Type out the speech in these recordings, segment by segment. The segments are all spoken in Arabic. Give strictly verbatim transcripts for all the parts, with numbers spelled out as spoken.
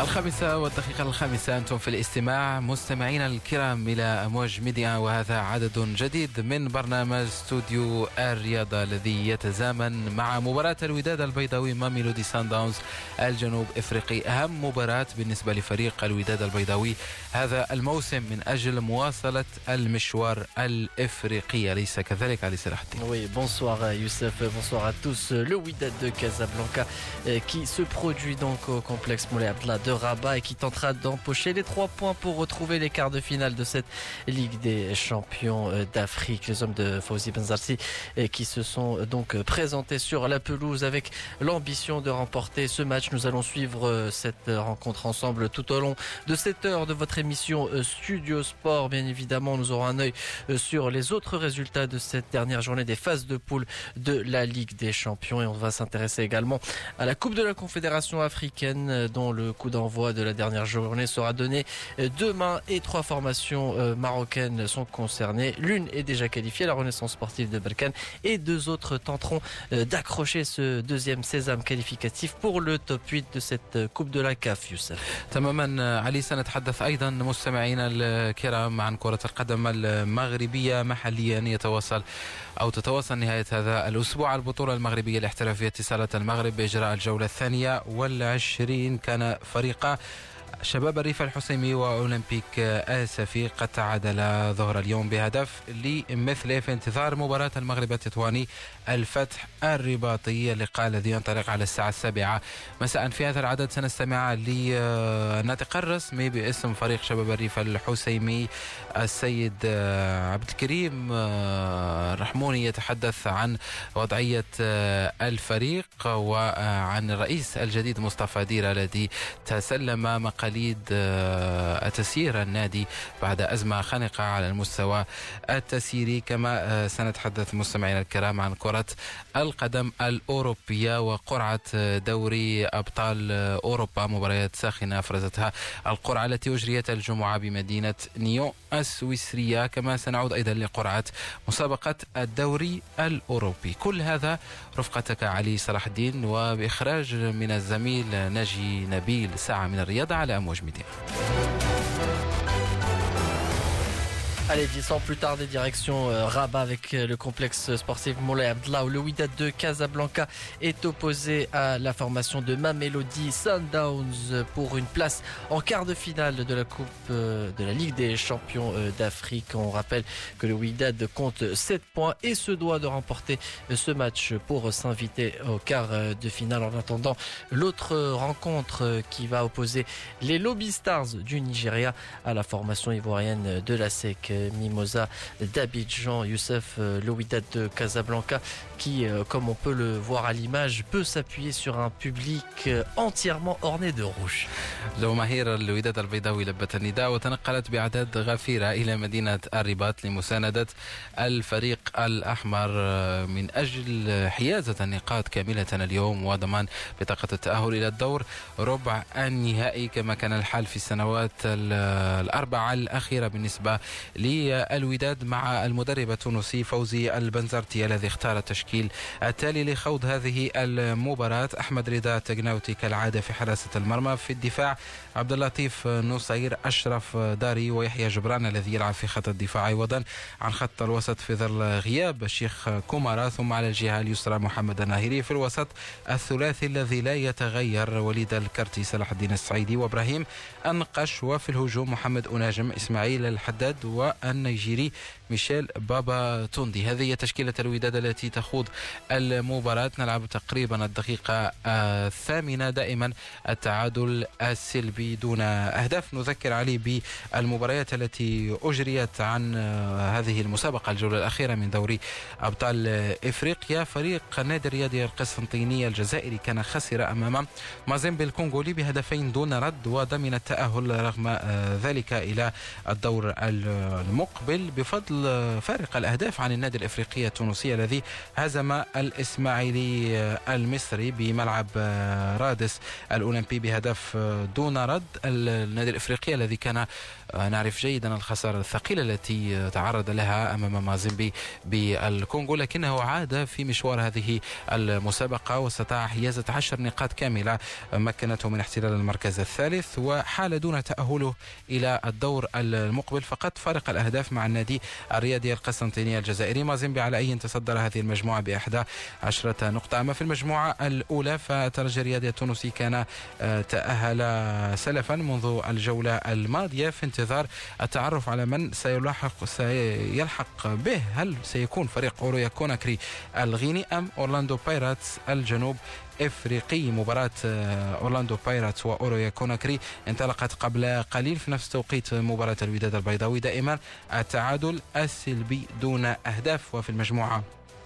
الخامسة والدقيقة الخامسة أنتم في الاستماع مستمعينا الكرام إلى أمواج ميديا، وهذا عدد جديد من برنامج استوديو الرياضة الذي يتزامن مع مباراة الوداد البيضاوي ماميلودي سان داونز الجنوب إفريقي، أهم مباراة بالنسبة لفريق الوداد البيضاوي هذا الموسم من أجل مواصلة المشوار الإفريقي، أليس كذلك علي صلاح الدين؟ Oui, bonsoir Youssef, bonsoir à tous. Le Wydad de Casablanca qui se produit donc au complexe Moulay Abdallah de Rabat et qui tentera d'empocher les trois points pour retrouver les quarts de finale de cette Ligue des champions d'Afrique. Les hommes de Fawzi Benzarti qui se sont donc présentés sur la pelouse avec l'ambition de remporter ce match. Nous allons suivre cette rencontre ensemble tout au long de cette heure de votre émission Studio Sport. Bien évidemment, nous aurons un œil sur les autres résultats de cette dernière journée des phases de poule de la Ligue des champions et on va s'intéresser également à la Coupe de la Confédération africaine dont le coup d'envoi de la dernière journée sera donné demain et trois formations marocaines sont concernées. L'une est déjà qualifiée, la Renaissance sportive de Berkane, et deux autres tenteront d'accrocher ce deuxième sésame qualificatif pour le top huit de cette Coupe de la C A F. Youssef. تماما علي، سنتحدث أيضا مستمعينا الكرام عن كرة القدم المغربية محليا. يتواصل أو تتواصل نهاية هذا الأسبوع البطولة المغربية الاحترافية اتصالات المغرب بإجراء الجولة الثانية والعشرين. كان فريق شباب الريف الحسيمي وأولمبيك آسفي قد تعادلا ظهر اليوم بهدف لمثله في انتظار مباراة المغرب التطواني الفتح الرباطي، اللقاء الذي ينطلق على الساعة السابعة مساء. في هذا العدد سنستمع للناطق الرسمي باسم فريق شباب الريف الحسيمي السيد عبد الكريم الرحموني يتحدث عن وضعية الفريق وعن الرئيس الجديد مصطفى ديرة الذي تسلم مقاليد تسيير النادي بعد أزمة خانقة على المستوى التسييري. كما سنتحدث مستمعينا الكرام عن كرة القدم الأوروبية وقرعة دوري أبطال أوروبا، مباريات ساخنة أفرزتها القرعة التي أجريت الجمعة بمدينة نيون السويسرية. كما سنعود أيضا لقرعة مسابقة الدوري الأوروبي. كل هذا رفقتك علي صلاح الدين وبإخراج من الزميل ناجي نبيل. ساعة من الرياضة على أمواج ميديا. Allez, sans plus tarder, direction euh, Rabat avec euh, le complexe sportif Moulay Abdallah où le Wydad de Casablanca est opposé à la formation de Mamelodi Sundowns pour une place en quart de finale de la Coupe euh, de la Ligue des champions euh, d'Afrique. On rappelle que le Wydad compte sept points et se doit de remporter euh, ce match pour euh, s'inviter au quart euh, de finale. En attendant, l'autre euh, rencontre euh, qui va opposer les Lobby Stars du Nigeria à la formation ivoirienne de la S E C Mimosa d'Abidjan. Youssef, le Wydad de Casablanca qui, comme on peut le voir à l'image, peut s'appuyer sur un public entièrement orné de rouge. جماهير الوداد البيضاوي لبت النداء وتنقلت بأعداد غفيرة إلى مدينة الرباط لمساندة الفريق الأحمر من أجل حيازة النقاط كاملة اليوم وضمان بطاقة التأهل إلى الدور ربع النهائي كما كان الحال في السنوات الأربعة الأخيرة بالنسبة للوداد مع المدرب التونسي فوزي البنزرتي الذي اختار التشكيل التالي لخوض هذه المباراة. أحمد رضا تقناوتي كالعادة في حراسة المرمى، في الدفاع عبد اللطيف نصير، أشرف داري ويحيى جبران الذي يلعب في خط الدفاع عوضا عن خط الوسط في ظل غياب الشيخ كومارا، ثم على الجهة اليسرى محمد الناهري. في الوسط الثلاثي الذي لا يتغير وليد الكرتي صلاح الدين السعيدي وإبراهيم أنقش، وفي الهجوم محمد أناجم إسماعيل الحداد والنيجيري ميشيل بابا توندي. هذه هي تشكيلة الوداد التي تخوض المباراة. نلعب تقريبا الدقيقة الثامنة، دائما التعادل السلبي دون أهداف. نذكر علي بالمباريات التي أجريت عن هذه المسابقة الجولة الأخيرة من دوري أبطال إفريقيا. فريق النادي الرياضي القسنطيني الجزائري كان خسر أمام مازيمبي الكونغولي بهدفين دون رد وضمن التأهل رغم ذلك إلى الدور المقبل بفضل فضل فارق الأهداف عن النادي الإفريقي التونسي الذي هزم الإسماعيلي المصري بملعب رادس الأولمبي بهدف دون رد. النادي الإفريقي الذي كان نعرف جيدا الخسارة الثقيلة التي تعرض لها أمام مازيمبي بالكونغو، لكنه عاد في مشوار هذه المسابقة واستطاع حيازة عشر نقاط كاملة مكنته من احتلال المركز الثالث، وحال دون تأهله إلى الدور المقبل فقط فارق الأهداف مع النادي الرياضي القسنطيني الجزائري. مازيمبي على أي تصدر هذه المجموعة بإحدى عشرة نقطة. أما في المجموعة الأولى فالترجي الرياضي التونسي كان تأهل سلفا منذ الجولة الماضية في انتظار التعرف على من سيلاحق سيلحق به. هل سيكون فريق أورويا كوناكري الغيني أم أورلاندو بايراتس الجنوب افريقي؟ مباراة اورلاندو بايراتس واورويا كوناكري انطلقت قبل قليل في نفس توقيت مباراة الوداد البيضاوي. دائما التعادل السلبي دون اهداف. وفي المجموعة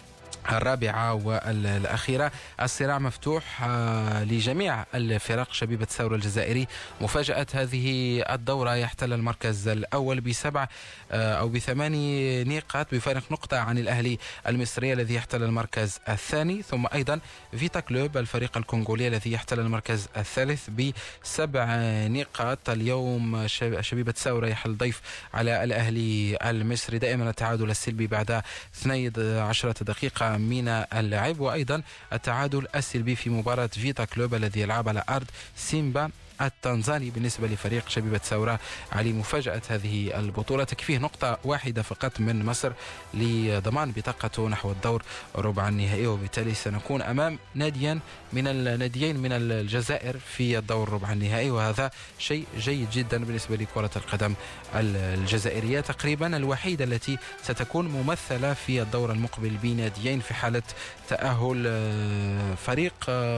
الرابعة والأخيرة الصراع مفتوح لجميع الفرق. شبيبة ثورة الجزائري مفاجأة هذه الدورة يحتل المركز الأول بسبع أو بثماني نقاط بفارق نقطة عن الأهلي المصري الذي يحتل المركز الثاني، ثم أيضا فيتا كلوب الفريق الكونغولي الذي يحتل المركز الثالث بسبع نقاط. اليوم شبيبة ثورة يحل ضيف على الأهلي المصري. دائما التعادل السلبي بعد اثنتي عشرة دقيقة من اللعب، وأيضا التعادل السلبي في مباراة فيتا كلوب الذي يلعب على أرض سيمبا التنزاني. بالنسبة لفريق شبيبة ثورة علي مفاجأة هذه البطولة، تكفيه نقطة واحدة فقط من مصر لضمان بطاقته نحو الدور ربع النهائي، وبالتالي سنكون أمام ناديا من الناديين من الجزائر في الدور ربع النهائي، وهذا شيء جيد جدا بالنسبة لكرة القدم الجزائرية. تقريبا الوحيدة التي ستكون ممثلة في الدور المقبل بناديين في حالة تأهل فريق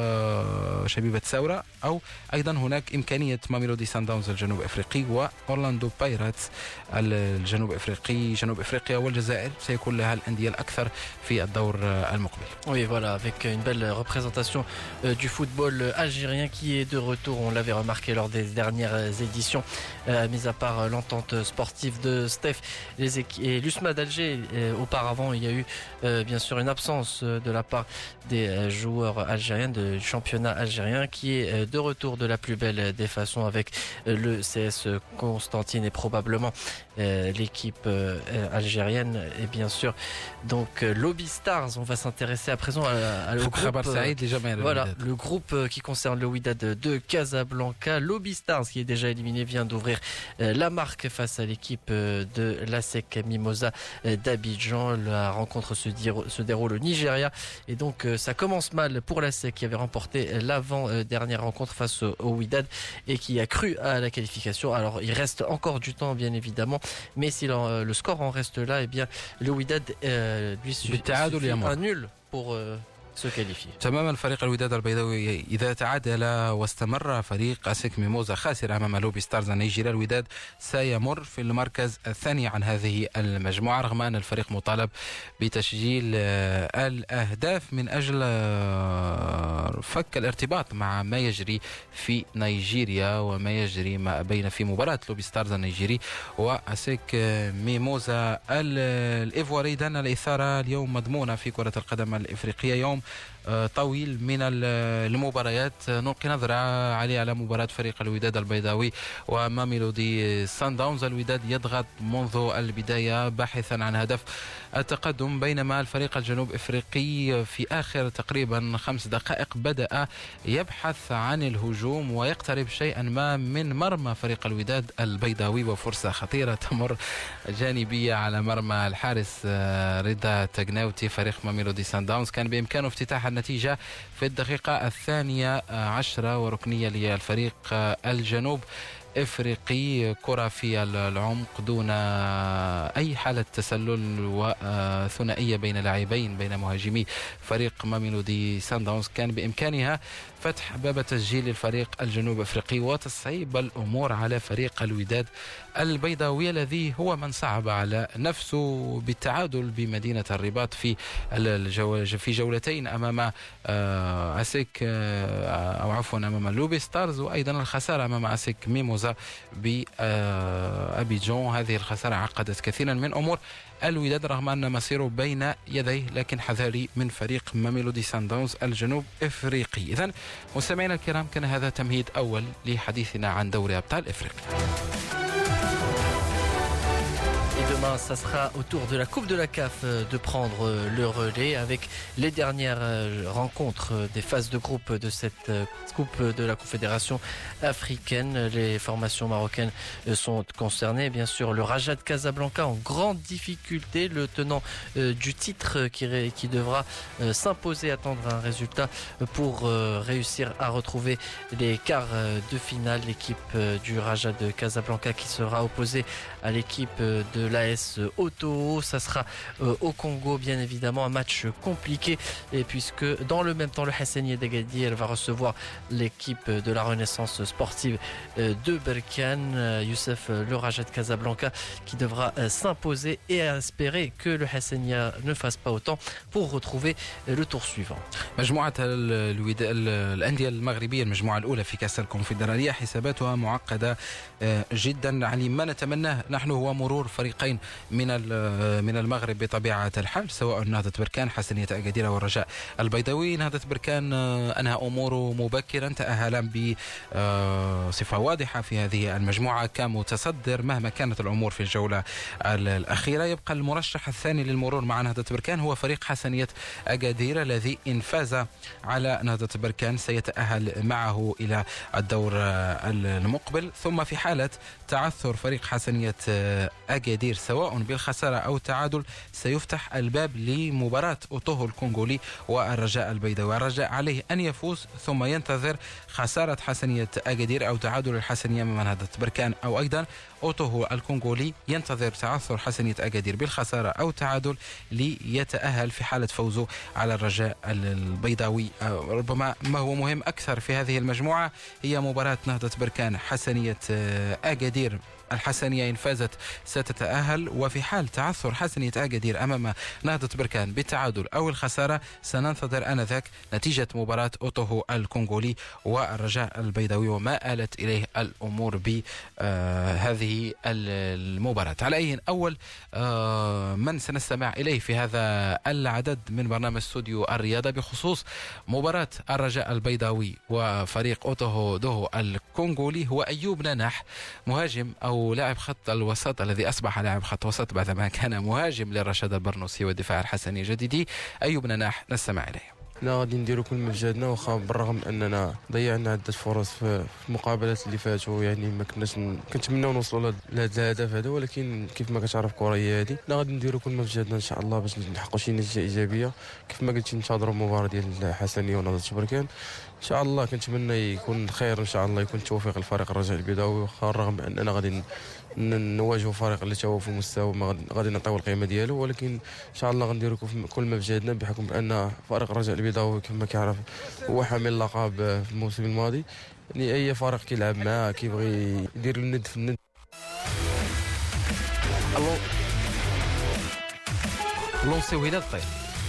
شبيبة ثورة، أو أيضا هناك إمكانية ماميلودي سان داونز الجنوب أفريقي وأورلاندو بايراتس الجنوب أفريقي. جنوب أفريقيا والجزائر سيكون لها الأندية الأكثر في الدور المقبل. Oui, voilà, avec une belle représentation euh, du football algérien qui est de retour. On l'avait remarqué lors des dernières éditions, euh, mis à part l'entente sportive de Steph les et l'USMA d'Alger. Euh, auparavant, il y a eu euh, bien sûr une absence de la part des euh, joueurs algériens du championnat algérien qui est euh, de retour de la plus belle des façons avec euh, le C S Constantine et probablement euh, l'équipe euh, algérienne et bien sûr donc euh, Lobby Stars. On va s'intéresser à présent à, à le groupe, euh, voilà, le groupe euh, qui concerne le Wydad de Casablanca. Lobby Stars qui est déjà éliminé vient d'ouvrir euh, la marque face à l'équipe euh, de l'ASEC Mimosa euh, d'Abidjan. La rencontre se, se déroule au Nigeria et donc euh, ça commence mal pour l'ASEC qui avait remporté l'avant-dernière rencontre face au, au Wydad et qui a cru à la qualification. Alors il reste encore du temps bien évidemment, mais si le, le score en reste là, et eh bien le Wydad euh, lui suffit un nul pour euh, se qualifier. تماما. فريق الوداد البيضاوي إذا تعادل واستمر فريق أسيك ميموزا خاسر أمام لوبي ستارز النيجيري، الوداد سيمر في المركز الثاني عن هذه المجموعة، رغم أن الفريق مطالب بتسجيل الأهداف من أجل فك الارتباط مع ما يجري في نيجيريا وما يجري ما بين في مباراة لوبي ستارز النيجيري وأسيك ميموزا الإيفواري. إذن الإثارة اليوم مضمونة في كرة القدم الإفريقية. يوم طويل من المباريات. نلقي نظرة عليه على مباراة فريق الوداد البيضاوي وماميلودي سان داونز. الوداد يضغط منذ البداية باحثا عن هدف التقدم، بينما الفريق الجنوب افريقي في اخر تقريبا خمس دقائق بدأ يبحث عن الهجوم ويقترب شيئا ما من مرمى فريق الوداد البيضاوي، وفرصة خطيرة تمر جانبية على مرمى الحارس رضا تجناوتي فريق ماميلودي سان داونز. كان بإمكانه افتتاح النتيجة في الدقيقة الثانية عشرة وركنية للفريق الجنوب افريقي، كرة في العمق دون اي حالة تسلل وثنائية بين لاعبين بين مهاجمي فريق ماميلودي سان داونز. كان بامكانها فتح باب تسجيل الفريق الجنوب افريقي وتصعيب الامور على فريق الوداد البيضاوي الذي هو من صعب على نفسه بالتعادل بمدينة الرباط في الجو... في جولتين امام اسيك او عفوا امام لوبي ستارز، وايضا الخسارة امام اسيك ميموزا فوز بأبيجون. هذه الخسارة عقدت كثيرا من أمور الوداد رغم أن مصيره بين يديه، لكن حذاري من فريق ماميلودي سانداونز الجنوب إفريقي. إذن مستمعينا الكرام، كان هذا تمهيد أول لحديثنا عن دوري أبطال إفريقيا. Et demain, ça sera au tour de la Coupe de la C A F de prendre le relais avec les dernières rencontres des phases de groupe de cette Coupe de la Confédération africaine. Les formations marocaines sont concernées. Bien sûr, le Raja de Casablanca en grande difficulté, le tenant du titre qui, qui devra s'imposer, attendre un résultat pour réussir à retrouver les quarts de finale. L'équipe du Raja de Casablanca qui sera opposée à l'équipe de l'A S Oto. Ça sera euh, au Congo, bien évidemment, un match compliqué, et puisque dans le même temps le Hassanieh d'Agadir elle va recevoir l'équipe de la Renaissance sportive euh, de Berkane. euh, Youssef, euh, le Raja de Casablanca qui devra euh, s'imposer et espérer que le Hassanieh ne fasse pas autant pour retrouver euh, le tour suivant. مجموعة الوداد الأندية المغربية المجموعة الأولى في كأس الكونفدرالية حساباتها معقدة جدا. علي ما نتمناه نحن هو مرور فريقين من من المغرب بطبيعة الحال، سواء نهضة بركان حسنية أكادير والرجاء البيضاوي. نهضة بركان أنهى أموره مبكرا، تأهل بصفة واضحة في هذه المجموعة كمتصدر مهما كانت الأمور في الجولة الأخيرة. يبقى المرشح الثاني للمرور مع نهضة بركان هو فريق حسنية أكادير الذي إن فاز على نهضة بركان سيتأهل معه إلى الدور المقبل. ثم في حالة تعثر فريق حسنية أكادير سواء بالخسارة أو التعادل سيفتح الباب لمباراة أوتوهو الكونغولي والرجاء البيضاوي. الرجاء عليه أن يفوز ثم ينتظر خسارة حسنية أكادير أو تعادل الحسنية من نهضة بركان، أو أيضا أوتوهو الكونغولي ينتظر تعثر حسنية أكادير بالخسارة أو تعادل ليتأهل في حالة فوزه على الرجاء البيضاوي. ربما ما هو مهم أكثر في هذه المجموعة هي مباراة نهضة بركان حسنية أكادير. الحسنية إن فازت ستتأهل، وفي حال تعثر حسنية أكادير أمام نهضة بركان بالتعادل أو الخسارة سننتظر آنذاك نتيجة مباراة أوتوهو الكونغولي والرجاء البيضاوي وما آلت إليه الأمور بهذه المباراة. على أي أول من سنستمع إليه في هذا العدد من برنامج استوديو الرياضة بخصوص مباراة الرجاء البيضاوي وفريق أوتوهو دوهو الكونغولي هو أيوب نناح، مهاجم أو لاعب خط الوسط الذي أصبح لاعب خط وسط بعدما كان مهاجم للرشاد البرنوسي والدفاع الحسني الجديدي. أيوب نناح نستمع إليه. لا غادي نديروا كل ما في جهدنا، واخا بالرغم اننا ضيعنا عده فرص في المقابلات اللي فاتوا، يعني ما كناش كنتمناو نوصلوا لهذا الهدف هذا، ولكن كيف ما كتعرف الكره هي هذه. لا غادي نديروا كل ما في جهدنا ان شاء الله باش نحققوا شي نتيجه ايجابيه. كيف ما قلتي ننتظروا المباراه ديال حسنيه ونهضه بركان ان شاء الله. كنتمنى يكون خير ان شاء الله، يكون التوفيق لفريق الرجاء البيضاوي، واخا الرغم اننا غادي نواجهوا فريق اللي هو في مستوى ما غادي نعطيو القيمه ديالو، ولكن ان شاء الله غنديروا كل ما في جهدنا، بحكم بان فريق الرجاء البيضاوي كما كيعرف هو حامل اللقب في الموسم الماضي. يعني اي فريق كيلعب معاه كيبغي يدير الند في الند. لونسيو الى الطير.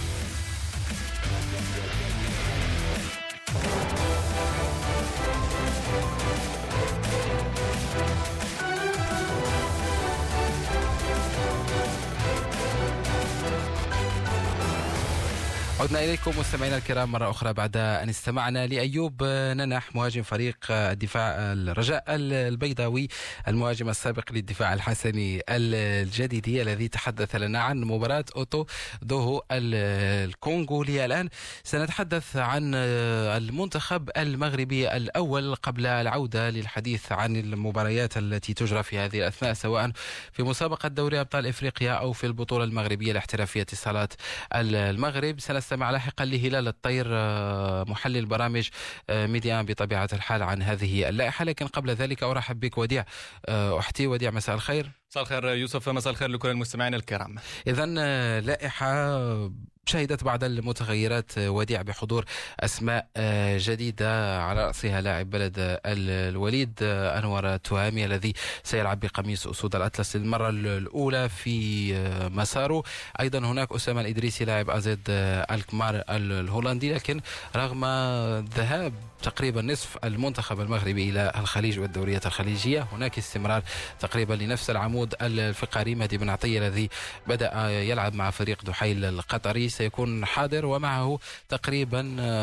عدنا إليكم مستمعينا الكرام مرة أخرى بعد أن استمعنا لأيوب نناح مهاجم فريق الدفاع الرجاء البيضاوي، المهاجم السابق للدفاع الحسني الجديدي الذي تحدث لنا عن مباراة أوتو دوهو الكونغولي. الآن سنتحدث عن المنتخب المغربي الأول قبل العودة للحديث عن المباريات التي تجرى في هذه الأثناء سواء في مسابقة دوري أبطال إفريقيا أو في البطولة المغربية لاحترافية اتصالات المغرب. سنستمع لاحقا لهلال الطير محلل برامج ميديان بطبيعة الحال عن هذه اللائحة، لكن قبل ذلك أرحب بك وديع أحتي. وديع مساء الخير. مساء الخير يوسف، مساء الخير لكل المستمعين الكرام. إذن لائحة شهدت بعض المتغيرات وديع بحضور أسماء جديدة على رأسها لاعب بلد الوليد أنور التهامي الذي سيلعب بقميص أسود الأطلس للمرة الأولى في مساره. أيضا هناك أسامة الإدريسي لاعب أزيد الكمار الهولندي، لكن رغم ذهاب تقريبا نصف المنتخب المغربي إلى الخليج والدوريات الخليجية. هناك استمرار تقريبا لنفس العمود الفقري. مهدي بن عطية الذي بدأ يلعب مع فريق دحيل القطري سيكون حاضر، ومعه تقريبا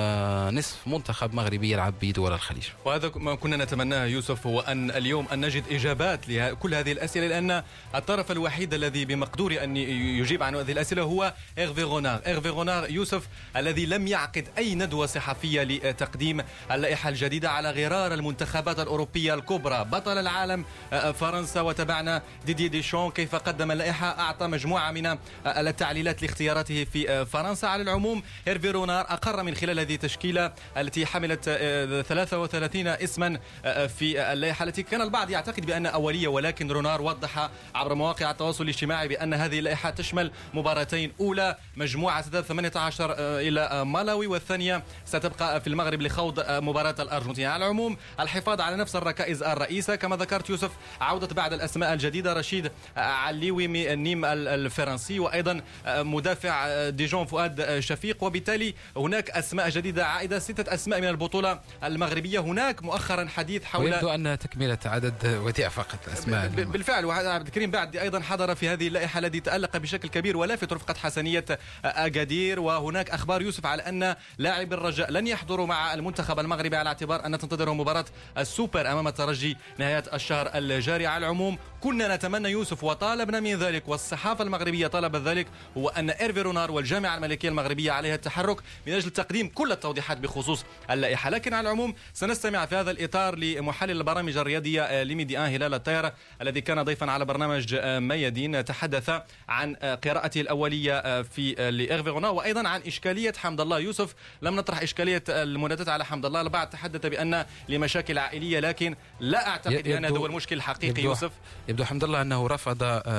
نصف منتخب مغربي يلعب بدول الخليج. وهذا ما كنا نتمناه يوسف، هو أن اليوم أن نجد إجابات لكل هذه الأسئلة، لأن الطرف الوحيد الذي بمقدور أن يجيب عن هذه الأسئلة هو إيرفي غونار. إيرفي غونار يوسف الذي لم يعقد أي ندوة صحفية لتقديم اللائحة الجديدة على غرار المنتخبات الأوروبية الكبرى. بطل العالم فرنسا، وتابعنا ديدي ديشون كيف قدم اللائحة، أعطى مجموعة من التعليلات لاختياراته في فرنسا. على العموم إيرفي غونار أقر من خلال هذه التشكيلة التي حملت ثلاثة وثلاثين اسما في اللائحة التي كان البعض يعتقد بأن أولية، ولكن غونار وضح عبر مواقع التواصل الاجتماعي بأن هذه اللائحة تشمل مباراتين، أولى مجموعة ثمانية عشر إلى مالاوي، والثانية ستبقى في المغرب لخوض مباراة الأرجنتين. على العموم الحفاظ على نفس الركائز الرئيسة كما ذكرت يوسف، عودة بعض الأسماء الجديدة، رشيد عليوي من النيم الفرنسي، وأيضا مدافع ديجون فؤاد شفيق، وبالتالي هناك أسماء جديدة عائدة، ستة أسماء من البطولة المغربية. هناك مؤخرا حديث حول ويبدو أن تكملة عدد وديع فقط أسماء بالفعل. وعبد الكريم بعد أيضا حضر في هذه اللائحة الذي تألق بشكل كبير ولافت رفقة حسنية أكادير. وهناك أخبار يوسف على أن لاعب الرجاء لن يحضروا مع المنتخب المغربي على اعتبار أن تنتظرهم مباراة السوبر أمام الترجي نهاية الشهر الجاري. على العموم كنا نتمنى يوسف وطالبنا من ذلك، والصحافة المغربية طلبت ذلك، هو أن إيرفي غونار والجامعة الملكية المغربية عليها التحرك من أجل تقديم كل التوضيحات بخصوص اللائحة. لكن على العموم سنستمع في هذا الإطار لمحلل البرامج الرياضية لميدي آن هلال الطير الذي كان ضيفا على برنامج ميادين، تحدث عن قراءته الأولية في لإيرفي غونار، وأيضا عن إشكالية حمد الله. يوسف لم نطرح إشكالية المنادات على حمد الله، البعض تحدث بأن لمشاكل عائلية، لكن لا أعتقد أن هذا هو المشكل الحقيقي. يوسف يبدو حمد الله أنه رفض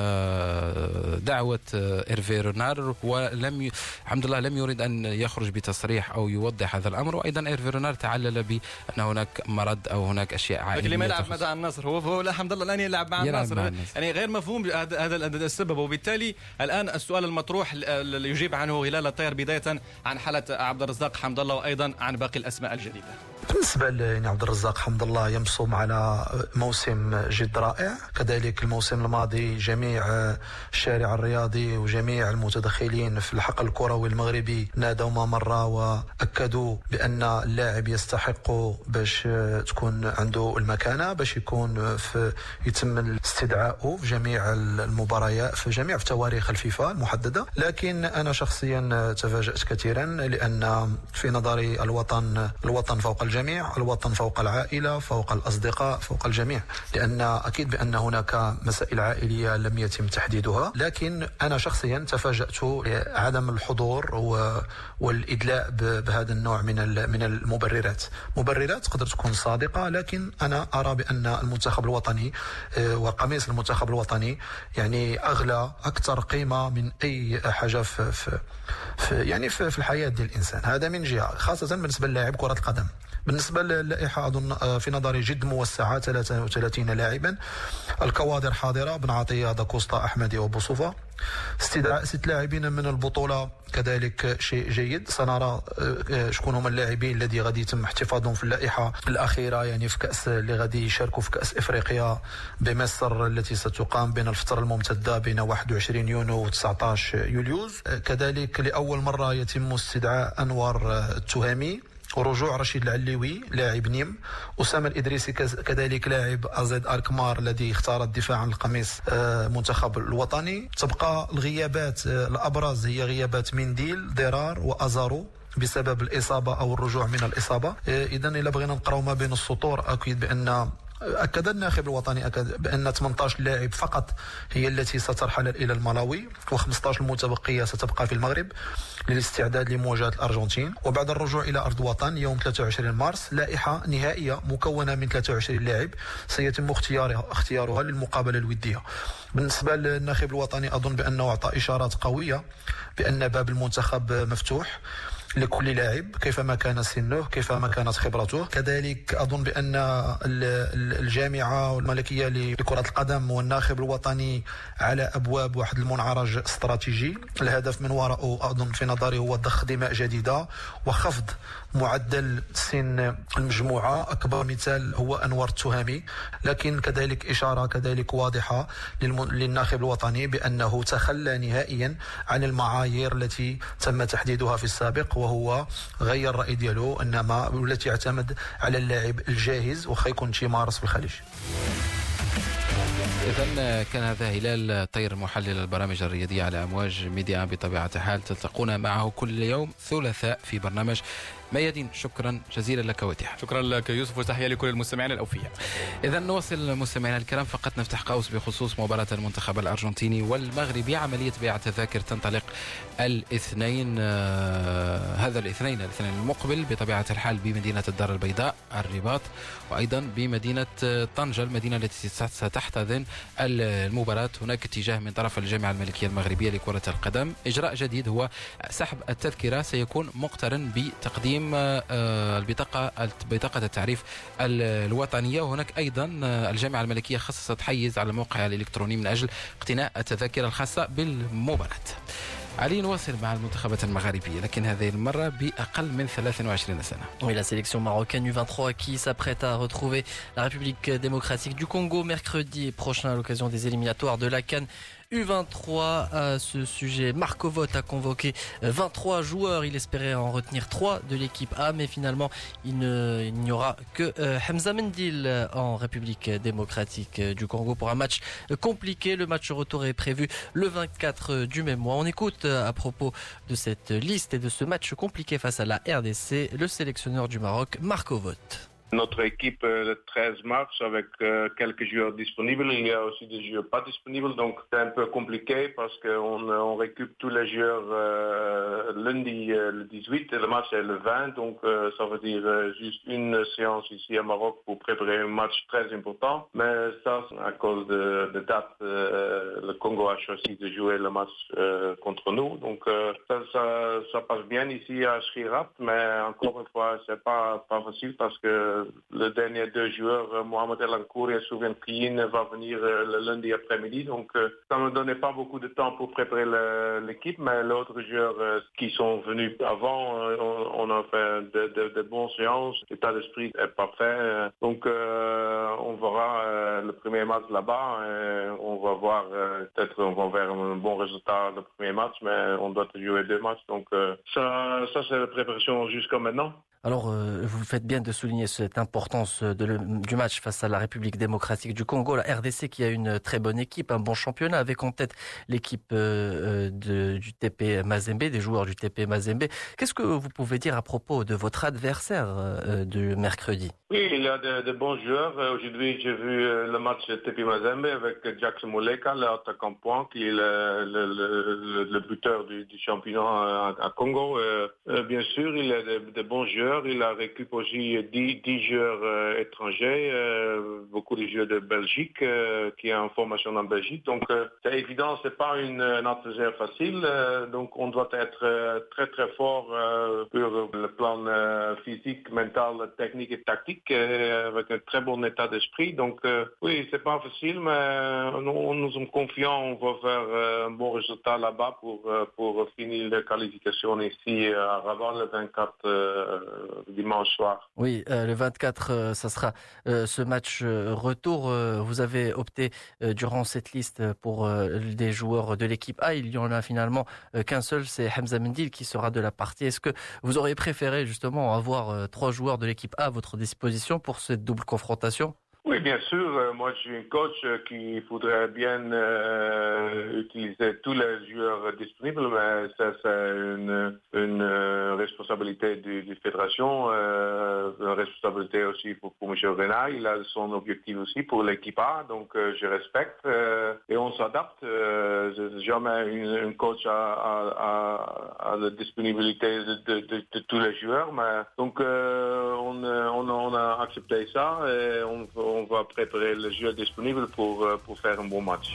دعوة إيرفي غونار، ولم ي... حمد الله لم يريد أن يخرج بتصريح أو يوضح هذا الأمر. وأيضا إيرفي غونار تعلل بأن هناك مرض أو هناك أشياء عائلية. لكن لما يلعب مع النصر هو هو لا حمد الله الآن يلعب مع النصر، يعني غير مفهوم هذا السبب. وبالتالي الآن السؤال المطروح اللي يجيب عنه هلال الطير بداية عن حالة عبد الرزاق حمد الله، وأيضا عن باقي الأسماء الجديدة. بالنسبة لعبد الرزاق حمد الله يمصم على موسم جد رائع، كذلك الموسم الماضي جميع الشارع الرياضي وجميع المتدخلين في الحقل الكروي المغربي نادوا ما مرة وأكدوا بأن اللاعب يستحق باش تكون عنده المكانة، باش يكون في يتم استدعائه في جميع المباريات في جميع في تواريخ الفيفا المحددة. لكن أنا شخصيا تفاجأت كثيرا، لأن في نظري الوطن الوطن فوق الجميع، الوطن فوق العائلة، فوق الأصدقاء، فوق الجميع، لأن أكيد بأن هناك مسائل عائلية لم يتم تحديدها. لكن أنا شخصيا تفاجأت عدم الحضور والإدلاء بهذا النوع من من المبررات. مبررات تقدر تكون صادقة، لكن أنا أرى بأن المنتخب الوطني وقميص المنتخب الوطني يعني أغلى أكثر قيمة من أي حاجة في, في, في يعني في, في الحياة ديال الإنسان. هذا من جهة، خاصة بالنسبة للاعب كرة القدم. بالنسبة للائحة أظن في نظري جد موسعة، ثلاثة وثلاثين لاعبا، الكوادر حاضرة، بن عطية، داكوستا، أحمدي وبوصوفة. استدعاء ست لاعبين من البطولة كذلك شيء جيد. سنرى شكون هما اللاعبين الذي غادي يتم احتفاظهم في اللائحة الأخيرة، يعني في كأس اللي غادي يشاركوا في كأس إفريقيا بمصر التي ستقام بين الفترة الممتدة بين واحد وعشرين يونيو و تسعة عشر يوليوز. كذلك لأول مرة يتم استدعاء أنور التهامي ورجوع رشيد العليوي لاعب نيم، أسامة الإدريسي كذلك لاعب أزيد أركمار الذي اختار الدفاع عن القميص منتخب الوطني. تبقى الغيابات الأبرز هي غيابات منديل، ضرار وأزارو بسبب الإصابة أو الرجوع من الإصابة. إذا إلا بغينا نقراو ما بين السطور، أكيد بأن أكد الناخب الوطني أكد بأن ثمانية عشر لاعب فقط هي التي سترحل إلى الملاوي، وخمسة عشر المتبقية ستبقى في المغرب للاستعداد لمواجهة الأرجنتين. وبعد الرجوع إلى أرض الوطن يوم ثلاثة وعشرين مارس، لائحة نهائية مكونة من ثلاثة وعشرين لاعب سيتم اختيارها اختيارها للمقابلة الودية. بالنسبة للناخب الوطني أظن بأنه أعطى إشارات قوية بأن باب المنتخب مفتوح، لكل لاعب كيفما كان سنه كيفما كانت خبرته. كذلك أظن بأن الجامعة الملكية لكرة القدم والناخب الوطني على أبواب واحد المنعرج استراتيجي. الهدف من وراءه أظن في نظري هو ضخ دماء جديدة وخفض معدل سن المجموعة. أكبر مثال هو أنور التهامي، لكن كذلك إشارة كذلك واضحة للناخب الوطني بأنه تخلى نهائيا عن المعايير التي تم تحديدها في السابق، وهو غير الرأي ديالو إنما والتي يعتمد على اللاعب الجاهز وخا يكون شي مارس في الخليج. إذن كان هذا هلال طير محلل البرامج الرياضية على أمواج ميديا بطبيعة الحال، تلتقون معه كل يوم ثلاثاء في برنامج ميادين. شكرا جزيلا لك وتيحة. شكرا لك يوسف، وتحية لكل المستمعين الأوفياء. إذا نواصل مستمعينا الكرام، فقط نفتح قوس بخصوص مباراة المنتخب الأرجنتيني والمغربي. عملية بيع التذاكر تنطلق الاثنين آه هذا الاثنين الاثنين المقبل بطبيعة الحال بمدينة الدار البيضاء الرباط، وأيضا بمدينة طنجة المدينة التي ستحتضن المباراة. هناك اتجاه من طرف الجامعة الملكية المغربية لكرة القدم. إجراء جديد هو سحب التذكرة، سيكون مقترن بتقديم البطاقة بطاقة التعريف الوطنية. وهناك أيضا الجامعة الملكية خصصت حيز على الموقع الإلكتروني من أجل اقتناء التذاكر الخاصة بالمباراة. علي نواصل مع المنتخبات المغاربية، لكن هذه المرة بأقل من ثلاث وعشرين سنة. Oui, la sélection marocaine U vingt-trois qui s'apprête à retrouver la République démocratique du Congo mercredi prochain à l'occasion des éliminatoires de la CAN U vingt-trois. À ce sujet, Marco Vogt a convoqué vingt-trois joueurs. Il espérait en retenir trois de l'équipe A, mais finalement, il, ne, il n'y aura que Hamza Mendil en République démocratique du Congo pour un match compliqué. Le match retour est prévu le vingt-quatre du même mois. On écoute à propos de cette liste et de ce match compliqué face à la R D C le sélectionneur du Maroc, Marco Vogt. Notre équipe le treize mars avec euh, quelques joueurs disponibles. Il y a aussi des joueurs pas disponibles, donc c'est un peu compliqué parce qu'on on récupère tous les joueurs euh, lundi euh, le dix-huit et le match est le vingt, donc euh, ça veut dire euh, juste une séance ici à Maroc pour préparer un match très important. Mais ça, à cause de, de date, euh, le Congo a choisi de jouer le match euh, contre nous, donc euh, ça, ça, ça passe bien ici à Schirat, mais encore une fois, c'est pas pas facile parce que le dernier deux joueurs, Mohamed El Ankour et Soufiane Kriyin, va venir le lundi après-midi. Donc ça ne me donnait pas beaucoup de temps pour préparer l'équipe, mais l'autre joueurs qui sont venus avant, on a fait de, de, de bonnes séances. L'état d'esprit est parfait. Donc euh, on verra le premier match là-bas. On va voir, peut-être on va vers un bon résultat le premier match, mais on doit jouer deux matchs. Donc ça, ça c'est la préparation jusqu'à maintenant. Alors, euh, vous faites bien de souligner cette importance de le, du match face à la République démocratique du Congo, la R D C qui a une très bonne équipe, un bon championnat, avec en tête l'équipe euh, de, du T P Mazembe, des joueurs du T P Mazembe. Qu'est-ce que vous pouvez dire à propos de votre adversaire euh, de mercredi? Oui, il y a de, de bons joueurs. Aujourd'hui, j'ai vu le match T P Mazembe avec Jackson Moleka, l'attaquant point, qui est le, le, le, le buteur du, du championnat à, à Congo. Euh, bien sûr, il a de, de bons joueurs. Il a récupéré aussi dix joueurs euh, étrangers, euh, beaucoup de joueurs de Belgique euh, qui est en formation en Belgique. Donc euh, c'est évident, c'est pas une, une adversaire facile. Euh, donc on doit être euh, très très fort euh, sur le plan euh, physique, mental, technique et tactique, euh, avec un très bon état d'esprit. Donc euh, oui, c'est pas facile, mais nous, nous sommes confiants. On va faire euh, un bon résultat là-bas pour euh, pour finir la qualification ici à Rabat le vingt-quatre. Euh, dimanche soir. Oui, euh, le vingt-quatre, euh, ça sera euh, ce match euh, retour. Euh, vous avez opté euh, durant cette liste pour euh, des joueurs de l'équipe A. Il y en a finalement euh, qu'un seul, c'est Hamza Mendil qui sera de la partie. Est-ce que vous auriez préféré justement avoir euh, trois joueurs de l'équipe A à votre disposition pour cette double confrontation? Oui, bien sûr. Moi, je suis un coach qui voudrait bien euh, utiliser tous les joueurs disponibles, mais ça, c'est une, une responsabilité de la fédération, euh, une responsabilité aussi pour, pour M. Renard. Il a son objectif aussi pour l'équipe A, donc euh, je respecte euh, et on s'adapte. Euh, jamais une, un coach a, a, a, a la disponibilité de, de, de, de tous les joueurs, mais donc euh, on, on, on a accepté ça et on on va préparer le jeu disponible pour, pour faire un bon match.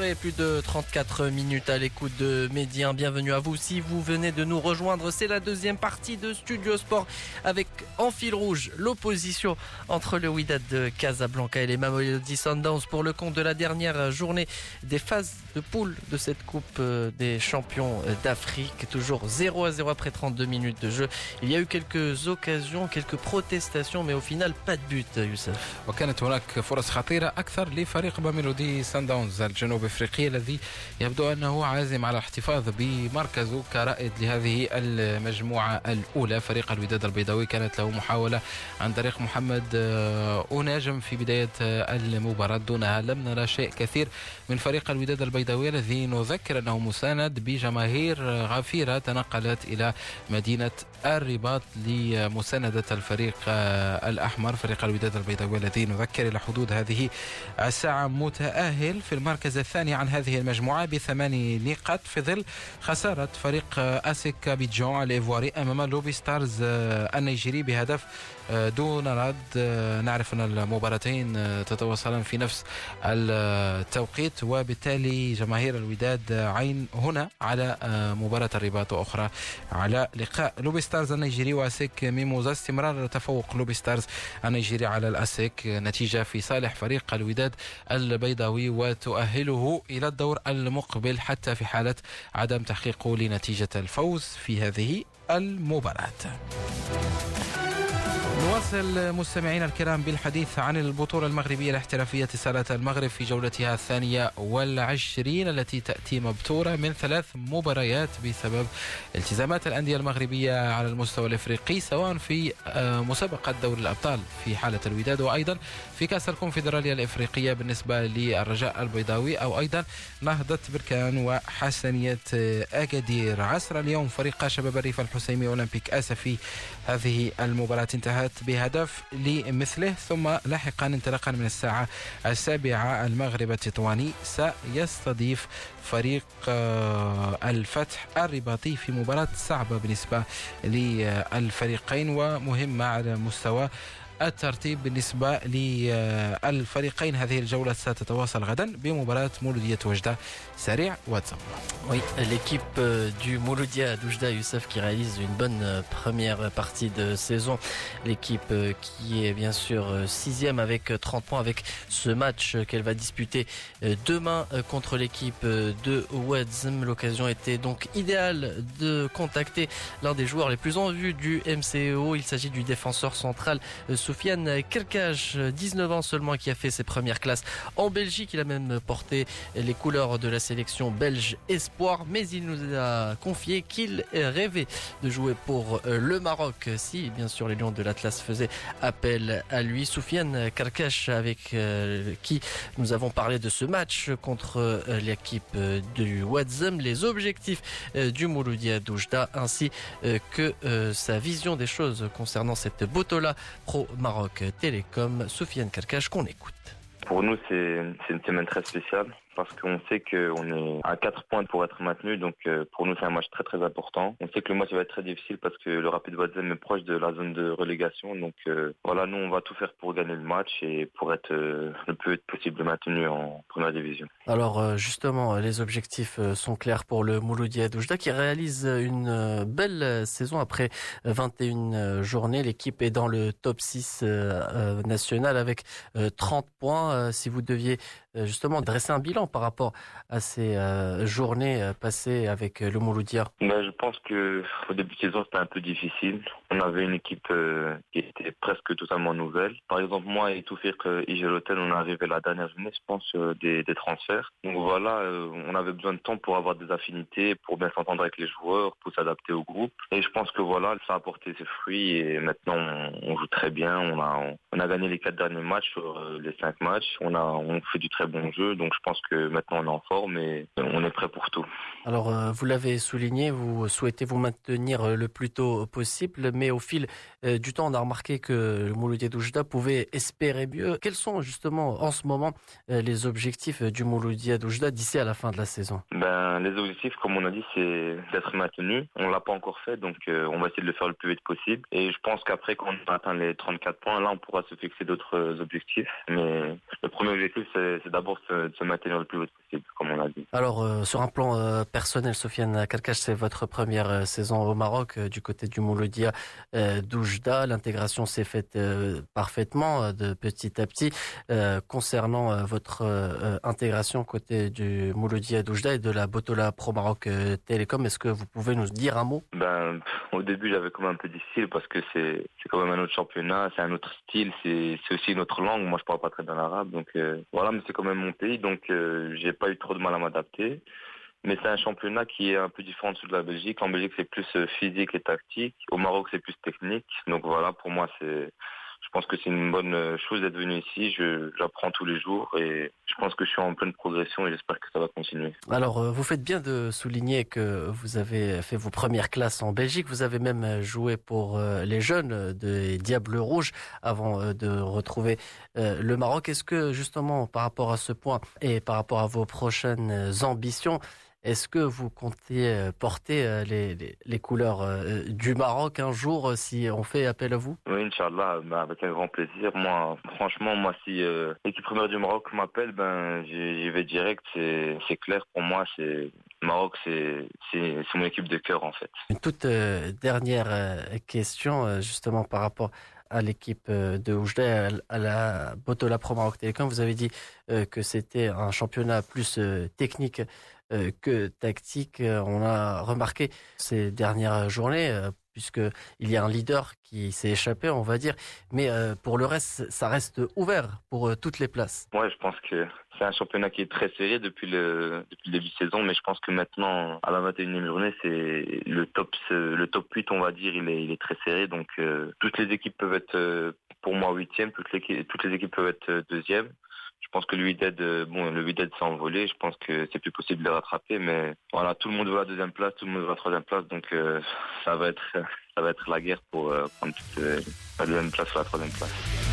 soirée, plus de trente-quatre minutes à l'écoute de Médien. Bienvenue à vous si vous venez de nous rejoindre. C'est la deuxième partie de Studio Sport avec en fil rouge l'opposition entre le Wydad de Casablanca et les Mamelodi Sundowns pour le compte de la dernière journée des phases de poule de cette Coupe des champions d'Afrique. Toujours zéro à zéro après trente-deux minutes de jeu. Il y a eu quelques occasions, quelques protestations, mais au final pas de but, Youssef. وكانت هناك فرص خطيرة أكثر لفريق ميلودي سانداونز الجنوب أفريقي الذي يبدو أنه عازم على الاحتفاظ بمركزه كرائد لهذه المجموعة الأولى. فريق الوداد البيضاوي كانت له محاولة عن طريق محمد أوناجم في بداية المباراة، دونها لم نرى شيء كثير من فريق الوداد البيضاوي الذي نذكر أنه مساند بجماهير غفيرة تنقلت إلى مدينة الرباط لمساندة الفريق الأحمر. فريق الوداد البيضاوي الذي نذكر إلى حدود هذه الساعة متأهل في المركز الثاني عن هذه المجموعة بثماني نقاط في ظل خسارة فريق أسيك أبيجان الإيفواري أمام لوبي ستارز النيجيري بهدف دون رد. نعرف أن المباراتين تتواصلان في نفس التوقيت، وبالتالي جماهير الوداد عين هنا على مباراة الرباط وأخرى على لقاء لوبي ستارز النيجيري وأسيك ميموزا. استمرار تفوق لوبي ستارز النيجيري على الأسيك، نتيجة في صالح فريق الوداد البيضاوي وتؤهله إلى الدور المقبل حتى في حالة عدم تحقيقه لنتيجة الفوز في هذه المباراة. نواصل مستمعينا الكرام بالحديث عن البطولة المغربية الاحترافية اتصالات المغرب في جولتها الثانية والعشرين التي تأتي مبتورة من ثلاث مباريات بسبب التزامات الأندية المغربية على المستوى الإفريقي، سواء في مسابقة دوري الأبطال في حالة الوداد وأيضا في كأس الكونفدرالية الإفريقية بالنسبة للرجاء البيضاوي، أو أيضا نهضة بركان وحسنية أكادير. عصر اليوم فريق شباب الريف الحسيمي أولمبيك أسفي هذه المباراة انتهت بهدف لمثله، ثم لاحقا انطلاقا من الساعة السابعة المغرب التطواني سيستضيف فريق الفتح الرباطي في مباراة صعبة بالنسبة للفريقين ومهمة على مستوى الترتيب بالنسبة للفريقين. هذه الجولة ستتواصل غدا بمباراة مولودية وجدة. سريع واتساب. Oui, l'équipe du Mouloudia d'Oujda, Youssef, qui réalise une bonne première partie de saison. L'équipe qui est bien sûr sixième avec trente points, avec ce match qu'elle va disputer demain contre l'équipe de Ouadzem. L'occasion était donc idéale de contacter l'un des joueurs les plus en vue du M C O. Il s'agit du défenseur central Soufiane Kerkaj, dix-neuf ans seulement, qui a fait ses premières classes en Belgique. Il a même porté les couleurs de la sélection belge espoir, mais il nous a confié qu'il rêvait de jouer pour le Maroc si bien sûr les Lions de l'Atlas faisaient appel à lui. Soufiane Kerkaj, avec qui nous avons parlé de ce match contre l'équipe du Ouadzem, les objectifs du Mouloudia d'Oujda ainsi que sa vision des choses concernant cette Botola Pro Maroc Télécom. Soufiane Kerkaj, qu'on écoute. Pour nous, c'est une semaine très spéciale parce qu'on sait qu'on est à quatre points pour être maintenu. Donc pour nous, c'est un match très très important. On sait que le match va être très difficile parce que le Rapid Ouadzem est proche de la zone de relégation. Donc euh, voilà, nous, on va tout faire pour gagner le match et pour être euh, le plus vite possible maintenu en première division. Alors justement, les objectifs sont clairs pour le Mouloudia d'Oujda qui réalise une belle saison après vingt et une journées. L'équipe est dans le top six national avec trente points. Si vous deviez justement dresser un bilan par rapport à ces euh, journées passées avec le Mouloudia? Ben, je pense que au début de saison c'était un peu difficile. On avait une équipe euh, qui était presque totalement nouvelle. Par exemple, moi et Toufir Igelotel, on est arrivé la dernière journée, je pense, euh, des, des transferts. Donc voilà, euh, on avait besoin de temps pour avoir des affinités, pour bien s'entendre avec les joueurs, pour s'adapter au groupe. Et je pense que voilà, ça a porté ses fruits et maintenant on, on joue très bien. On a, on, on a gagné les quatre derniers matchs sur euh, les cinq matchs. On a, on fait du très bon jeu. Donc je pense que maintenant on est en forme et on est prêt pour tout. Alors euh, vous l'avez souligné, vous souhaitez vous maintenir le plus tôt possible, mais au fil euh, du temps on a remarqué que le Mouloudia d'Oujda pouvait espérer mieux. Quels sont justement en ce moment euh, les objectifs du Mouloudia d'Oujda d'ici à la fin de la saison? Ben, les objectifs, comme on a dit, c'est d'être maintenu. On l'a pas encore fait, donc euh, on va essayer de le faire le plus vite possible. Et je pense qu'après, quand on atteint les trente-quatre points, là on pourra se fixer d'autres objectifs. Mais le premier objectif, c'est d'abord se, se maintenir le plus vite possible, comme on a dit. Alors, euh, sur un plan euh, personnel, Sofiane Karkash, c'est votre première euh, saison au Maroc, euh, du côté du Mouloudia euh, d'Oujda. L'intégration s'est faite euh, parfaitement, euh, de petit à petit. Euh, concernant euh, votre euh, intégration côté du Mouloudia d'Oujda et de la Botola Pro Maroc euh, Télécom, est-ce que vous pouvez nous dire un mot? Ben, au début, j'avais quand même un peu difficile parce que c'est c'est quand même un autre championnat, c'est un autre style, c'est c'est aussi une autre langue. Moi, je parle pas très bien l'arabe, donc euh, voilà, mais c'est quand même mon pays, donc euh, j'ai pas eu trop de mal à m'adapter. Mais c'est un championnat qui est un peu différent de celui de la Belgique. En Belgique, c'est plus euh, physique et tactique. Au Maroc, c'est plus technique. Donc voilà, pour moi, c'est je pense que c'est une bonne chose d'être venu ici. Je, j'apprends tous les jours et je pense que je suis en pleine progression et j'espère que ça va continuer. Alors, vous faites bien de souligner que vous avez fait vos premières classes en Belgique. Vous avez même joué pour les jeunes des Diables Rouges avant de retrouver le Maroc. Est-ce que justement, par rapport à ce point et par rapport à vos prochaines ambitions, est-ce que vous comptez porter les, les, les couleurs du Maroc un jour si on fait appel à vous? Oui, Inch'Allah, ben avec un grand plaisir. Moi, franchement, moi, si euh, l'équipe première du Maroc m'appelle, ben j'y vais direct. C'est c'est clair pour moi. C'est Maroc, c'est c'est c'est mon équipe de cœur en fait. Une toute euh, dernière euh, question, euh, justement par rapport à l'équipe de Oujda, à la Botola Pro Maroc Télécom. Vous avez dit euh, que c'était un championnat plus euh, technique euh, que tactique. On a remarqué ces dernières journées, euh, puisqu'il y a un leader qui s'est échappé, on va dire. Mais euh, pour le reste, ça reste ouvert pour euh, toutes les places. Ouais, je pense que c'est un championnat qui est très serré depuis le, depuis le début de saison, mais je pense que maintenant, à la vingt et unième journée, c'est le top, le top huit, on va dire, il est, il est très serré. Donc, euh, toutes les équipes peuvent être, euh, pour moi, huitième, toutes les, toutes les équipes peuvent être deuxième. Je pense que le Wydad, bon, le Wydad s'est envolé. Je pense que c'est plus possible de les rattraper, mais voilà, tout le monde veut la deuxième place, tout le monde veut la troisième place, donc euh, ça va être, ça va être la guerre pour euh, prendre toute, euh, la deuxième place ou la troisième place.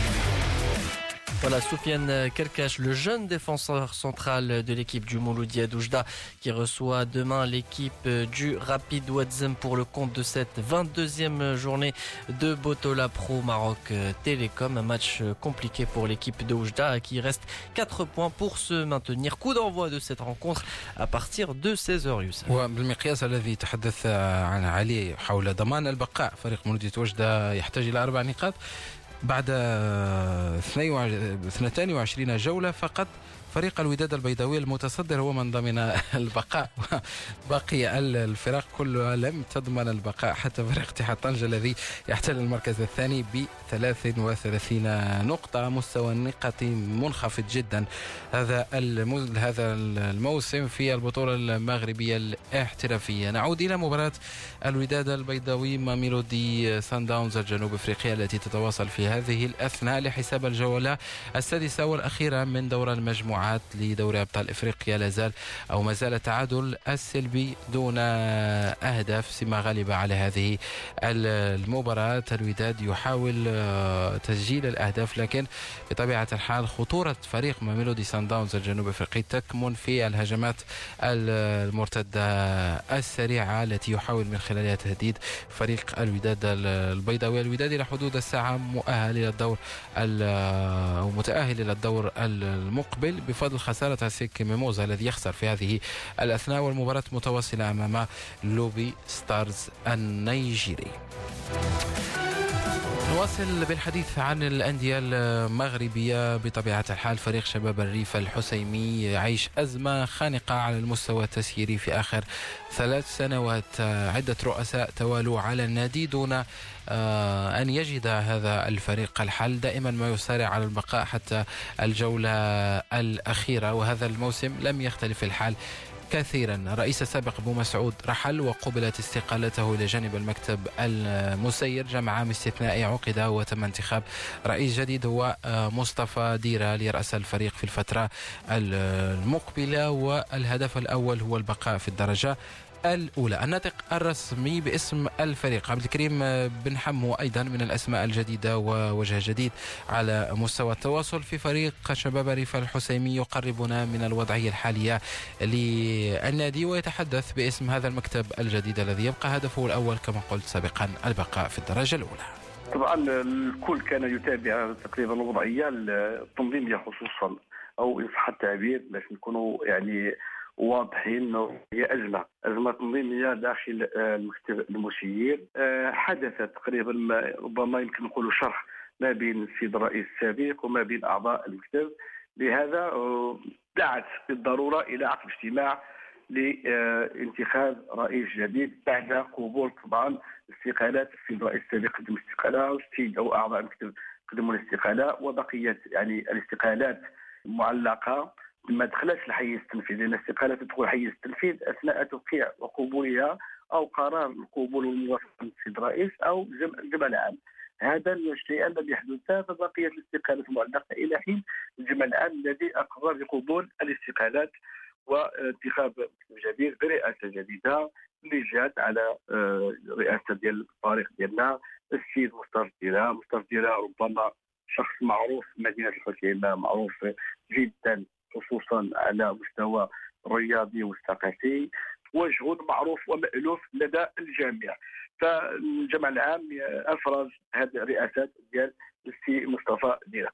Voilà, Sofiane Karkash, le jeune défenseur central de l'équipe du Mouloudia d'Oujda, qui reçoit demain l'équipe du Rapid Ouazzem pour le compte de cette vingt-deuxième journée de Botola Pro Maroc Télécom. Un match compliqué pour l'équipe de Oujda qui reste quatre points pour se maintenir. Coup d'envoi de cette rencontre à partir de seize heures. Youssef. وبالمقياس الذي تحدث عن علي حول ضمان البقاء فريق مولودية وجدة يحتاج إلى أربع نقاط بعد اثنتين وعشرين جولة فقط. فريق الوداد البيضاوي المتصدر هو من ضمن البقاء. باقي الفرق كلها لم تضمن البقاء، حتى فريق اتحاد طنجة الذي يحتل المركز الثاني ب ثلاث وثلاثين نقطة. مستوى النقاط منخفض جدا هذا هذا الموسم في البطولة المغربية الاحترافية. نعود إلى مباراة الوداد البيضاوي ميلودي سان داونز الجنوب افريقيا التي تتواصل في هذه الأثناء لحساب الجولة السادسة والأخيرة من دور المجموعة لدوري أبطال إفريقيا. لازال أو ما زال التعادل السلبي دون أهداف سما غالبة على هذه المباراة. الوداد يحاول تسجيل الأهداف، لكن بطبيعة الحال خطورة فريق ميلودي سان داونز الجنوب أفريقي تكمن في الهجمات المرتدة السريعة التي يحاول من خلالها تهديد فريق الوداد البيضاوي. الوداد إلى حدود الساعة مؤهل إلى الدور أو متأهل إلى الدور المقبل بفضل خسارة سيك ميموزا الذي يخسر في هذه الأثناء، والمباراة متواصلة أمام لوبي ستارز النيجيري. نواصل بالحديث عن الأندية المغربية. بطبيعة الحال فريق شباب الريف الحسيمي يعيش أزمة خانقة على المستوى التسييري في آخر ثلاث سنوات. عدة رؤساء توالوا على النادي دون أن يجد هذا الفريق الحل. دائما ما يسارع على البقاء حتى الجولة الأخيرة، وهذا الموسم لم يختلف الحال كثيرا. الرئيس السابق أبو مسعود رحل وقبلت استقالته إلى جانب المكتب المسير. جمع عام استثنائي عقد وتم انتخاب رئيس جديد هو مصطفى ديرة ليرأس الفريق في الفترة المقبلة، والهدف الأول هو البقاء في الدرجة الأولى. الناطق الرسمي باسم الفريق عبد الكريم بن حمو أيضا من الأسماء الجديدة ووجه جديد على مستوى التواصل في فريق شباب الريف الحسيمي. يقربنا من الوضعية الحالية للنادي ويتحدث باسم هذا المكتب الجديد الذي يبقى هدفه الأول كما قلت سابقا البقاء في الدرجة الأولى. طبعا الكل كان يتابع تقريبا الوضعية التنظيمية خصوصا او ان صح التعبير باش نكونوا يعني واضحين، هي ازمه ازمه تنظيميه داخل المكتب المشير. حدثت تقريبا ربما يمكن نقولوا شرح ما بين السيد الرئيس السابق وما بين اعضاء المكتب، لهذا دعت بالضروره الى عقد اجتماع لانتخاب رئيس جديد بعد قبول طبعا استقالات السيد الرئيس السابق قدم استقاله، والسيد او اعضاء المكتب قدموا الاستقاله، وبقيه يعني الاستقالات معلقه ما دخلتش الحيز التنفيذي، لان الاستقاله تدخل حيز التنفيذ اثناء توقيع وقبولها او قرار القبول والموافقه من السيد الرئيس او الجمع العام. هذا الشيء الذي يحدث، فبقيت الاستقالات معلقه الى حين الجمع العام الذي اقر بقبول الاستقالات وانتخاب مكتب جديد برئاسه جديده اللي جات على رئاسه ديال الفريق ديالنا السيد مصطفى ديرا. مصطفى ديرا ربما شخص معروف في مدينه الحسيمه، معروف جدا خصوصا على مستوى الرياضي والثقافي، وجه معروف ومألوف لدى الجميع. فالجمع العام افرز هذه الرئاسات ديال السي مصطفى ديرا.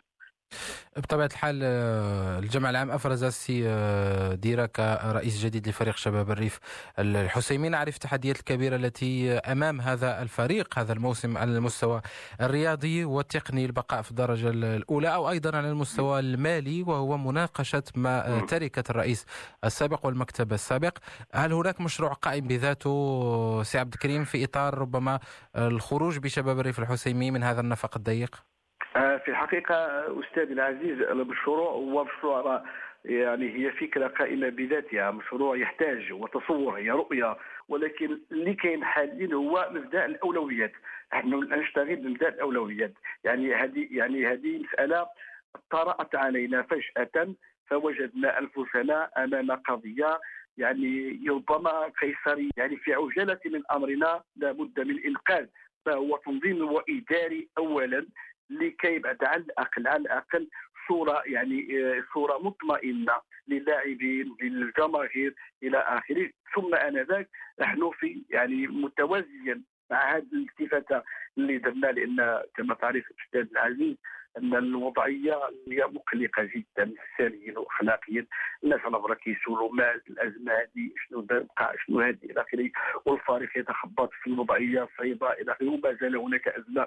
بطبيعة الحال الجمع العام أفرز السي ديرا كرئيس جديد لفريق شباب الريف الحسيمي. نعرف التحديات الكبيرة التي أمام هذا الفريق هذا الموسم على المستوى الرياضي والتقني، البقاء في الدرجة الأولى، أو أيضا على المستوى المالي وهو مناقشة ما تركة الرئيس السابق والمكتب السابق. هل هناك مشروع قائم بذاته سي عبد الكريم في إطار ربما الخروج بشباب الريف الحسيمي من هذا النفق الضيق؟ في الحقيقة أستاذ العزيز، المشروع هو مشروع يعني هي فكرة قائمة بذاتها، مشروع يحتاج وتصور، هي رؤية، ولكن اللي كاين حاليا هو مبدأ الأولويات. نحن نشتغل بمبدأ الأولويات، يعني هذه يعني هذه مسألة طرأت علينا فجأة، فوجدنا أنفسنا أمام قضية يعني ربما قيصرية، يعني في عجلة من أمرنا لابد من الإنقاذ، فهو تنظيم وإداري أولا لكي يبعد على الاقل على الاقل صوره يعني صوره مطمئنه للاعبين للجماهير الى اخره. ثم انذاك نحن في يعني متوازيا مع هذه الالتفاته اللي درنا، لان كما تعرف الاستاذ العزيز ان الوضعيه هي مقلقه جدا سلبيا واخلاقيا. الناس على برا كيسولوا ما الازمه هذه شنو بقى شنو هذه الى اخره، والفريق يتخبط في الوضعيه الصعيبه الى اخره، وما زال هناك ازمه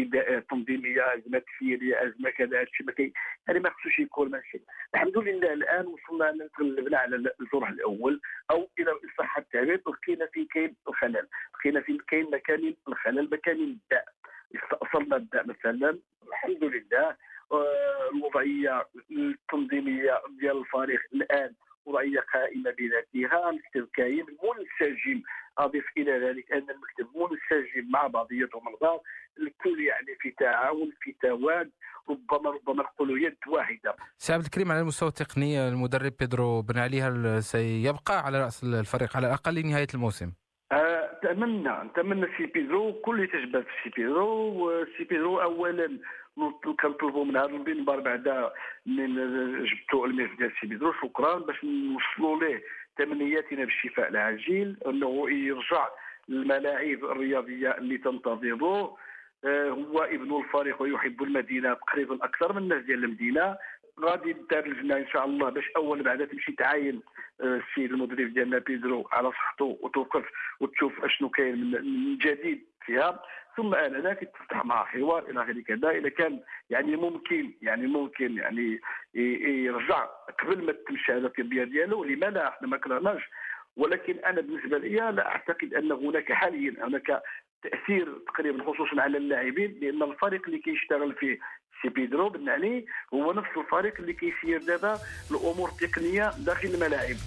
تنظيميه، ازمه تسييريه، ازمه كذا. هادشي ما كاين يعني ما خصوش يكون ماشي. الحمد لله الان وصلنا تغلبنا على الجرح الاول، او الى صح التعبير لقينا في كاين الخلل، لقينا في كاين مكان الخلل مكان الداء، استأصلنا الداء مثلا. الحمد لله الوضعيه التنظيميه ديال الفريق الان وضعيه قائمه بذاتها، مكتب كاين منسجم. اضيف الى ذلك ان المكتب منسجم مع بعضياتهم البعض، الكل يعني في تعاون في تواد، ربما ربما نقولوا يد واحده. سي عبد الكريم، على المستوى التقني المدرب بيدرو بن علي هل سيبقى على راس الفريق على الاقل لنهايه الموسم؟ نتمنى نتمنى سي بيدرو، كل يتجبد في سي بيدرو. وسي بيدرو اولا كنطلبوا من هذا المنبر بعد من جبتوا الميرس ديال سي بيدرو شكرا، باش نوصلوا ليه تمنياتنا بالشفاء العاجل، انه يرجع للملاعب الرياضيه اللي تنتظره. هو ابن الفريق ويحب المدينه تقريبا اكثر من الناس ديال المدينه. غادي ندار لجنه ان شاء الله باش اول بعدا تمشي تعاين السيد المدرب ديالنا بيدرو على صحته وتوقف وتشوف اشنو كاين من جديد فيها، ثم انذاك تفتح مع حوار الى غير كذا. اذا كان يعني ممكن يعني ممكن يعني يرجع قبل ما تمشي هذا التربيه ديالو، لما لا؟ احنا ما كرهناش، ولكن انا بالنسبه لي لا اعتقد ان هناك حاليا هناك تاثير تقريبا خصوصا على اللاعبين، لان الفريق اللي كيشتغل فيه سي بيدرو بن علي هو نفس الفريق اللي كيسير دابا الامور التقنيه داخل الملاعب.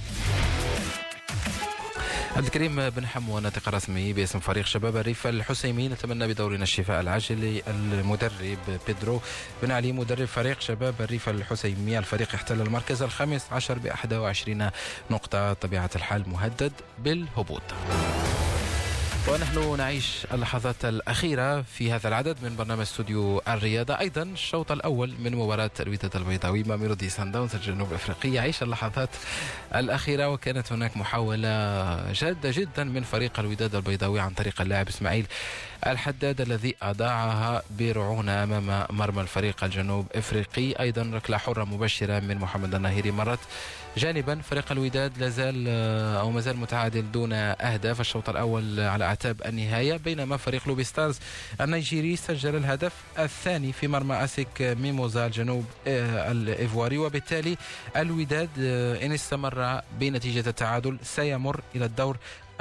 عبد الكريم بن حمو، ناطق رسمي باسم فريق شباب الريف الحسيمي، نتمنى بدورنا الشفاء العاجل للمدرب بيدرو بن علي مدرب فريق شباب الريف الحسيمي. الفريق احتل المركز الخامس عشر بأحد وعشرين نقطة، طبيعة الحال مهدد بالهبوط. ونحن نعيش اللحظات الأخيرة في هذا العدد من برنامج استوديو الرياضة. أيضا الشوط الأول من مباراة الوداد البيضاوي ماميلودي سان داونز الجنوب أفريقي يعيش اللحظات الأخيرة، وكانت هناك محاولة جادة جدا من فريق الوداد البيضاوي عن طريق اللاعب إسماعيل الحداد الذي أضاعها برعونة أمام مرمى الفريق الجنوب أفريقي. أيضا ركلة حرة مبشرة من محمد الناهيري مرت جانبا. فريق الوداد لازال أو مازال متعادل دون أهداف الشوط الأول على أعتاب النهاية، بينما فريق لوبي ستارز النيجيري سجل الهدف الثاني في مرمى أسيك ميموزا الجنوب الإيفواري، وبالتالي الوداد إن استمر بنتيجة التعادل سيمر إلى الدور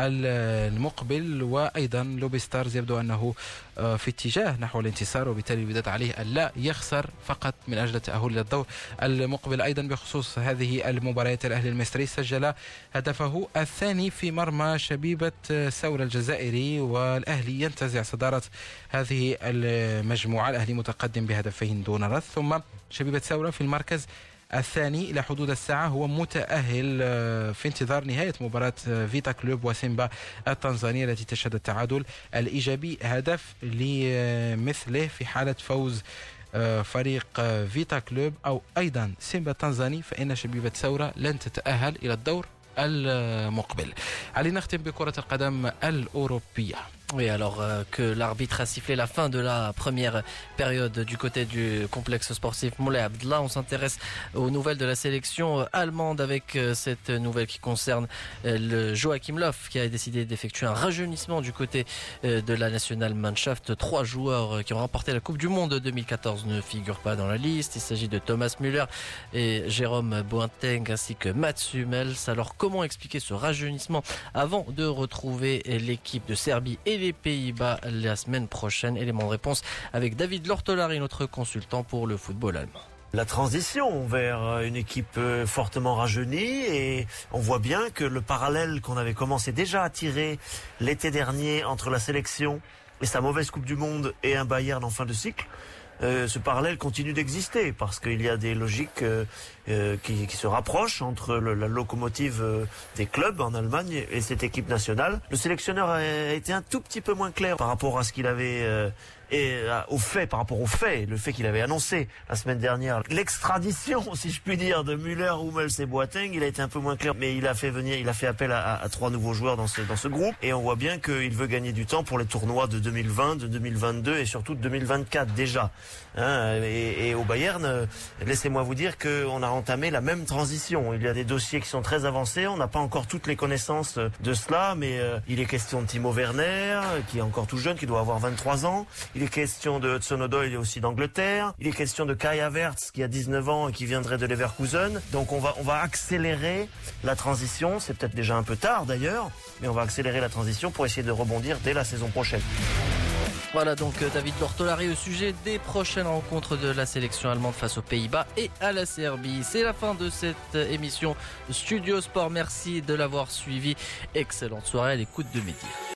المقبل. وأيضا لوبي ستارز يبدو أنه في اتجاه نحو الانتصار، وبالتالي الوداد عليه أن لا يخسر فقط من أجل التأهل إلى الدور المقبل. أيضا بخصوص هذه المباريات، الأهلي المصري سجل هدفه الثاني في مرمى شبيبة ثورة الجزائري، والأهلي ينتزع صدارة هذه المجموعة. الأهلي متقدم بهدفين دون رد، ثم شبيبة ثورة في المركز الثاني إلى حدود الساعة، هو متأهل في انتظار نهاية مباراة فيتا كلوب وسيمبا التنزانية التي تشهد التعادل الإيجابي هدف لمثله في حالة فوز فريق فيتا كلوب أو أيضا سيمبا التنزاني، فإن شبيبة ثورة لن تتأهل إلى الدور المقبل. علينا نختم بكرة القدم الأوروبية. Oui, alors euh, que l'arbitre a sifflé la fin de la première période du côté du complexe sportif Moulay Abdellah, on s'intéresse aux nouvelles de la sélection allemande avec euh, cette nouvelle qui concerne euh, le Joachim Löw qui a décidé d'effectuer un rajeunissement du côté euh, de la Nationalmannschaft. Trois joueurs qui ont remporté la Coupe du Monde deux mille quatorze ne figurent pas dans la liste. Il s'agit de Thomas Müller et Jérôme Boateng ainsi que Mats Hummels. Alors comment expliquer ce rajeunissement avant de retrouver l'équipe de Serbie et les Pays-Bas la semaine prochaine? Élément de réponse avec David Lortolari, notre consultant pour le football allemand. La transition vers une équipe fortement rajeunie, et on voit bien que le parallèle qu'on avait commencé déjà à tirer l'été dernier entre la sélection et sa mauvaise Coupe du Monde et un Bayern en fin de cycle, Euh, ce parallèle continue d'exister parce qu'il y a des logiques euh, euh, qui, qui se rapprochent entre le, la locomotive euh, des clubs en Allemagne et cette équipe nationale. Le sélectionneur a été un tout petit peu moins clair par rapport à ce qu'il avait euh, et euh, au fait, par rapport au fait, le fait qu'il avait annoncé la semaine dernière l'extradition, si je puis dire, de Müller, Hummels et Boateng. Il a été un peu moins clair, mais il a fait venir, il a fait appel à, à, à trois nouveaux joueurs dans ce dans ce groupe, et on voit bien qu'il veut gagner du temps pour les tournois de deux mille vingt, de deux mille vingt-deux et surtout de deux mille vingt-quatre déjà. Hein, et, et au Bayern, euh, laissez-moi vous dire qu'on a entamé la même transition. Il y a des dossiers qui sont très avancés, on n'a pas encore toutes les connaissances de cela, mais euh, il est question de Timo Werner, qui est encore tout jeune, qui doit avoir vingt-trois ans. Il est question de Hudson Odoi, aussi d'Angleterre. Il est question de Kai Havertz, qui a dix-neuf ans et qui viendrait de Leverkusen. Donc on va, on va accélérer la transition. C'est peut-être déjà un peu tard d'ailleurs, mais on va accélérer la transition pour essayer de rebondir dès la saison prochaine. Voilà donc David Lortolari au sujet des prochaines rencontres de la sélection allemande face aux Pays-Bas et à la Serbie. C'est la fin de cette émission Studio Sport. Merci de l'avoir suivi. Excellente soirée à l'écoute de Midi.